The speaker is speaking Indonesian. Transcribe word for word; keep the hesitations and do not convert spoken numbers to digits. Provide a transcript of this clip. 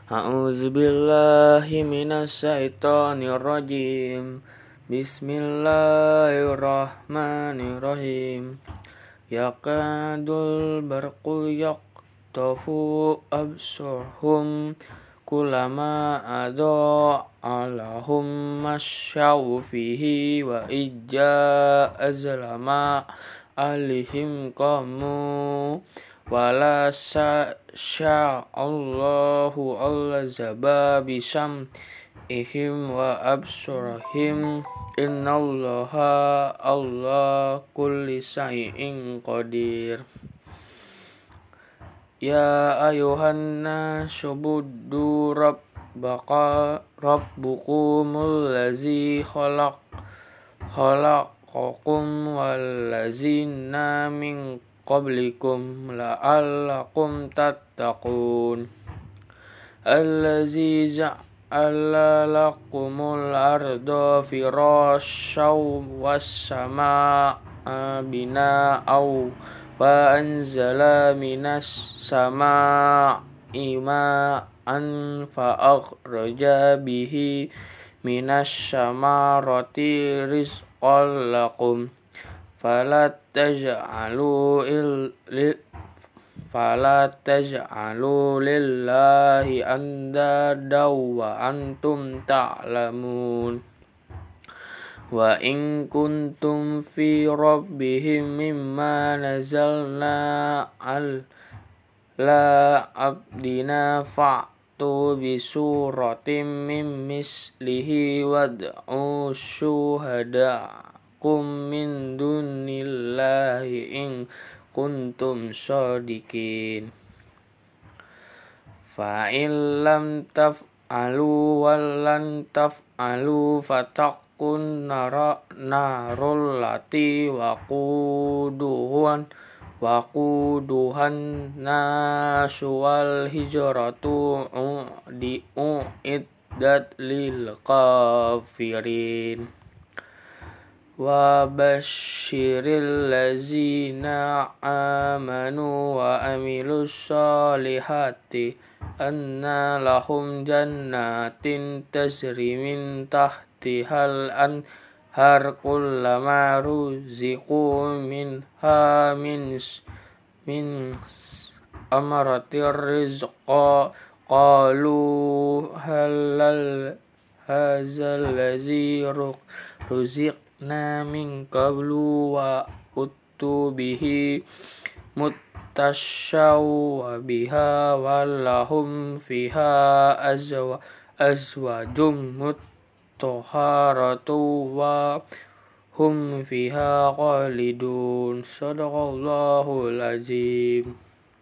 A'udzu billahi minasyaitonir rajim. Bismillahirrahmanirrahim. Yakadul barqu yaqtafu absarhum kullama adha'a lahum masyaw fihi wa ijja azlama alihim qamu wala sya'allahu allazaba bisam ihim wa absurahim innallaha Allah kulli syai'in qadir. Ya ayuhan nasu buddu rabbaka rabbukumul ladzi khalaq khalaqakum wallazina min qablikum la'allakum tattaqun. Allazi ja'ala lakumul arda firasyaw was samaa'a bina'aw wa anzala minas samaa'i ma'an fa akhraja bihi minas samarati rizqan lakum fala taj'alu fala taj'alu lillahi andada wa antum ta'lamun. Wa in kuntum fi rabbihim mimma nazalna al la abdina fa'tu bi suratim min mislihi wad'u syuhadakum min dunillahi in kuntum shadiqin. Fa in lam taf'alu wa lan taf'alu fataqun nara narul lati waquduhan waquduhan nasu wal hijratu di uiddat lil kafirin. Wa basyiril lazina amanu wa amilus solihati anna lahum jannatin tajri min tahtihal anhar kullama ruziqu minha min min amratir rizqa qalu halal hazal lazi ruziq na min qablu wa uttu bihi mutasyaw wa biha walahum fiha azwa azwajum mutahharatu wa hum fiha khalidun. Shadaqallahul azim.